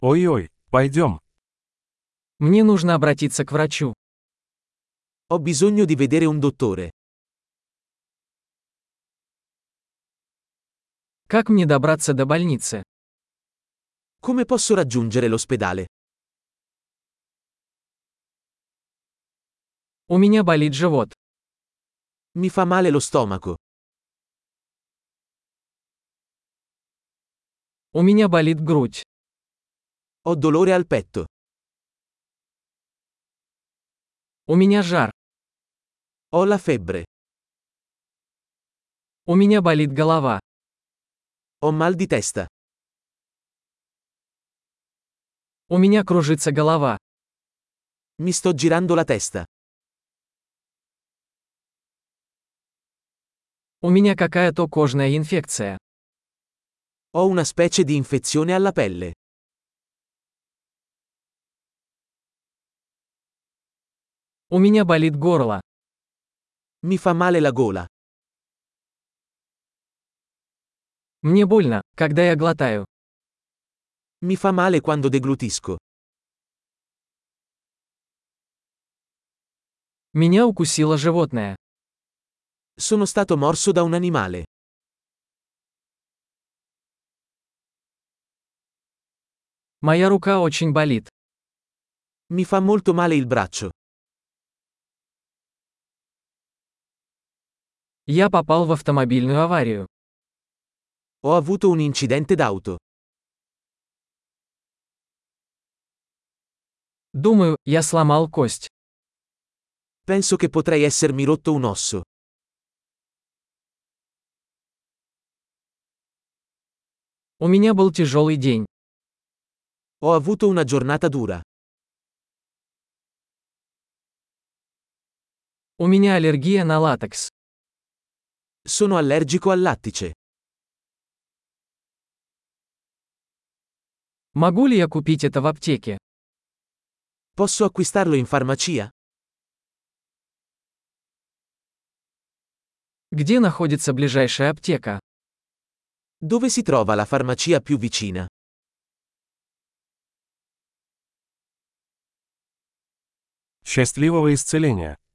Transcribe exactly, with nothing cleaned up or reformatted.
Ой-ой, пойдем. Мне нужно обратиться к врачу. Ho bisogno di vedere un dottore. Как мне добраться до больницы? Come posso raggiungere l'ospedale? У меня болит живот. Mi fa male lo stomaco. У меня болит грудь. Ho dolore al petto. У меня жар. Ho la febbre. У меня болит голова. Ho mal di testa. У меня кружится голова. Mi sto girando la testa. У меня какая-то кожная инфекция. Ho una specie di infezione alla pelle. У меня болит горло. Mi fa male la gola. Мне больно, когда я глотаю. Mi fa male quando deglutisco. Меня укусило животное. Sono stato morso da un animale. Моя рука очень болит. Mi fa molto male il braccio. Я попал в автомобильную аварию. Ho avuto un incidente d'auto. Думаю, я сломал кость. Penso che potrei essermi rotto un osso. У меня был тяжелый день. Ho avuto una giornata dura. У меня аллергия на латекс. Sono allergico al lattice. Могу ли я купить это в аптеке? Posso acquistarlo in farmacia? Где находится ближайшая аптека? Dove si trova la farmacia più vicina? Счастливого исцеления!